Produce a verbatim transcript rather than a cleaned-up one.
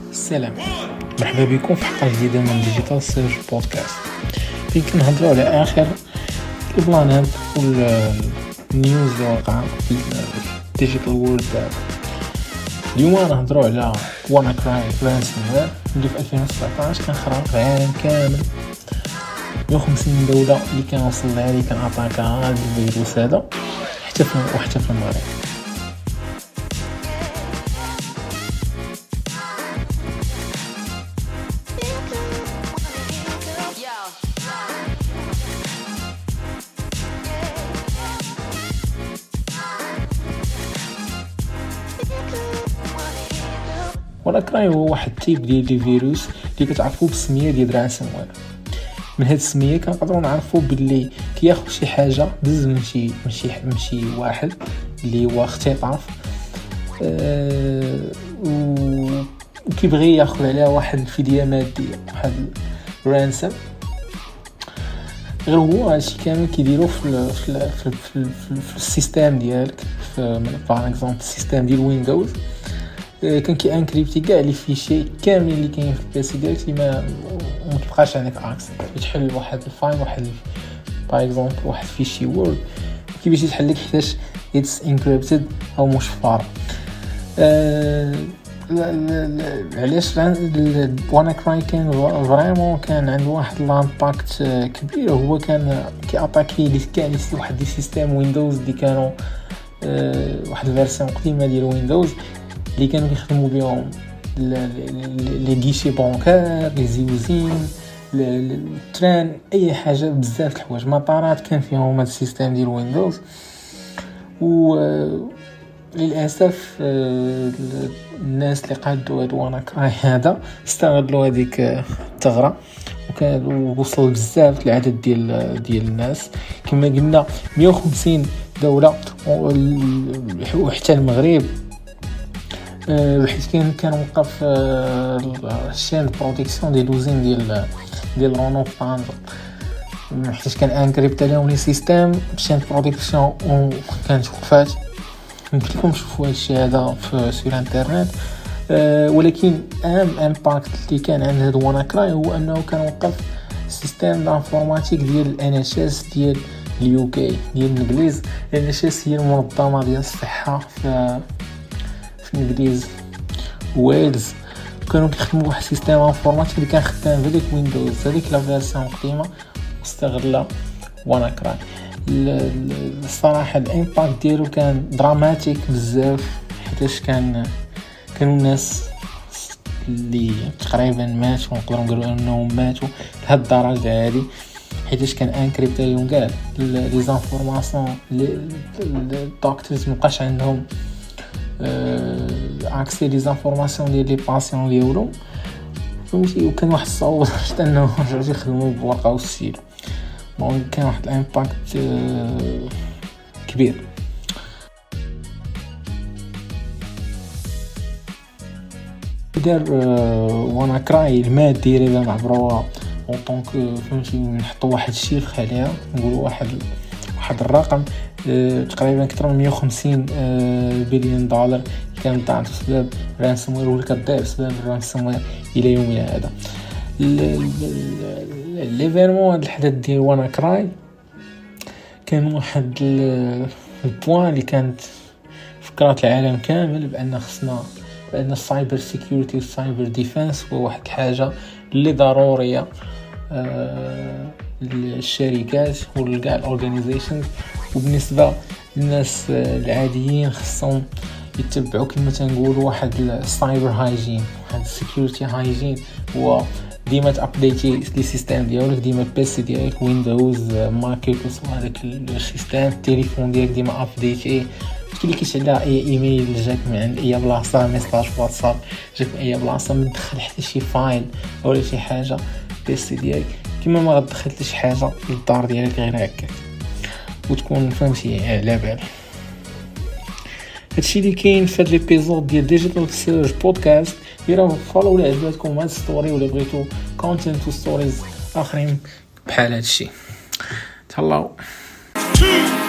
السلام، مرحبا بكم في حلقة جديدة من ديجيتال سيرش بودكاست فين كنهضروا على آخر البلانات والنيوز اللي واقعة في الديجيتال وورلد دابا. اليوم غنهضروا على وانا كراي رانسوموير اللي في ألفين وسبعطاش كان خرق العالم كامل. مية وخمسين دولة اللي كان وصل لها اللي كان اتاكا هذا الفيروس هذا حتى في وحتى في المغرب. وانا كراي هو واحد تيب ديال دي فيروس اللي كتعرفوه بالسميه ديال رانسوموير. من هاد السميه كنقدروا نعرفوا باللي كياخذ شي حاجه بز من شي من شي من شي واحد اللي هو اختطاف أه وكيبغي ياخذ عليها واحد الفديه ماديه، واحد رانسم. غير هو هادشي كامل كيديروا في ال في ال في, في, في, في السيستم ديالك، في باغ اكزومبل السيستم ديال ويندوز كان كي انكريبتي كاع لي فيشي كاملين اللي كاين في البيسي ديالك اللي ما ما كيبقاش عندك اكسس. تحل واحد الفايل واحد باغ اكزومبل واحد فيشي وورد كيفاش يتحل لك حيتاش اتس انكريبتد او مش فار. أه علاش وانا كراي كان فريمون كان عنده واحد لامباكت كبير. هو كان كي اتاكي لي كاع لي واحد دي سيستم ويندوز اللي كانوا أه واحد الفيرسيون قديمه ديال ويندوز اللي كانوا يخدموا بهم لي غيشي بانكار، لي زيوزين، التران، اي حاجه بزاف د الحوايج، مطارات كان فيهم هذا السيستم ديال ويندوز. و للاسف الناس اللي قادوا هذا وانا كراي هذا استغلوا هذيك الثغره وكانوا وصلوا بزاف العدد ديال ديال الناس كما قلنا مية وخمسين دوله وحتى المغرب. حيت كان كان وقف الشين بروتيكسيون ديال لوزين ديال ديال رونو طنجة، حيت كان انكريبت عليهم لي سيستم الشين بروتيكسيون كانت وقفات. يمكن لكم تشوفوا هذا الشيء هذا في سور انترنت. أه ولكن اهم امباكت اللي كان عند هذا وانا كراي هو انه كان وقف سيستم دانفورماتيك ديال الان اتش اس ديال اليو كي ديال الانجليز. الان اتش اس هي المنظمه ديال الصحه في في الانجليز ويلز. كانوا كيخدموا واحد السيستم انفورماتيك اللي كان خدام في ديك ويندوز هذيك لا فيرسيون قديمه واستغلها وانا كراي. الصراحه الامباكت ديالو كان دراماتيك بزاف، حيتاش كان كانوا الناس اللي تقريبا ماتوا، نقدروا نقولوا انهم ماتوا لهاد الدرجه هذه، حيتاش كان انكريبت عليهم كاع لي زانفورماسيون. الدكتورز مابقاش عندهم اكسي لي زانفورماسيون ديال لي باسيون ديالهم، فهمتي. وكان واحد الصعوبه حتى انه رجعوا يخدموا بالورقه والسيل. دونك كان واحد الامباكت كبير. دار وانا كراي المادي اللي معبروها اون طونك فهمتي، نحطوا واحد الشيفر عليها، نقولوا واحد واحد الرقم تقريبا اكثر من مية وخمسين بليون دولار كانت ضاعت بسبب رانسوموير، ولا كتضيع بسبب رانسوموير الى يومنا هذا. ليفيرمون هذا الحدث ديال وانا كراي كان واحد البوان اللي كانت فكرات العالم كامل بان خصنا بان السايبر سيكيورتي والسايبر ديفنس هو واحد الحاجه اللي ضروريه للشركات ولكاع الاورغانيزيشنز. وبالنسبه للناس العاديين خصهم يتبعوا كما تنقولوا واحد السايبر هايجين، واحد السيكيورتي هايجين. هو ديما تابديتي لي سيستم ديالك، ديما البيسي ديالك ويندوز مايكروسوفت هذاك السيستم، التليفون ديالك ديما ابديتي. كي اللي كيشعل اي ايميل جاك من عند اي بلاصه، ميساج واتساب جاك من اي بلاصه، ما تدخل حتى شي فايل ولا شي حاجه البيسي ديالك، كيما ما غتدخل حتى شي حاجه للدار ديالك غير هكا وتكون فهمتي على بال. هادشي اللي كاين في هاد ليبيزود ديال ديجيتال سيرش بودكاست. ديروا فولو ولا عجبتكم هاد ستوري ولا بغيتو كونتنت وستوريز اخرين بحال هادشي. تهلاو.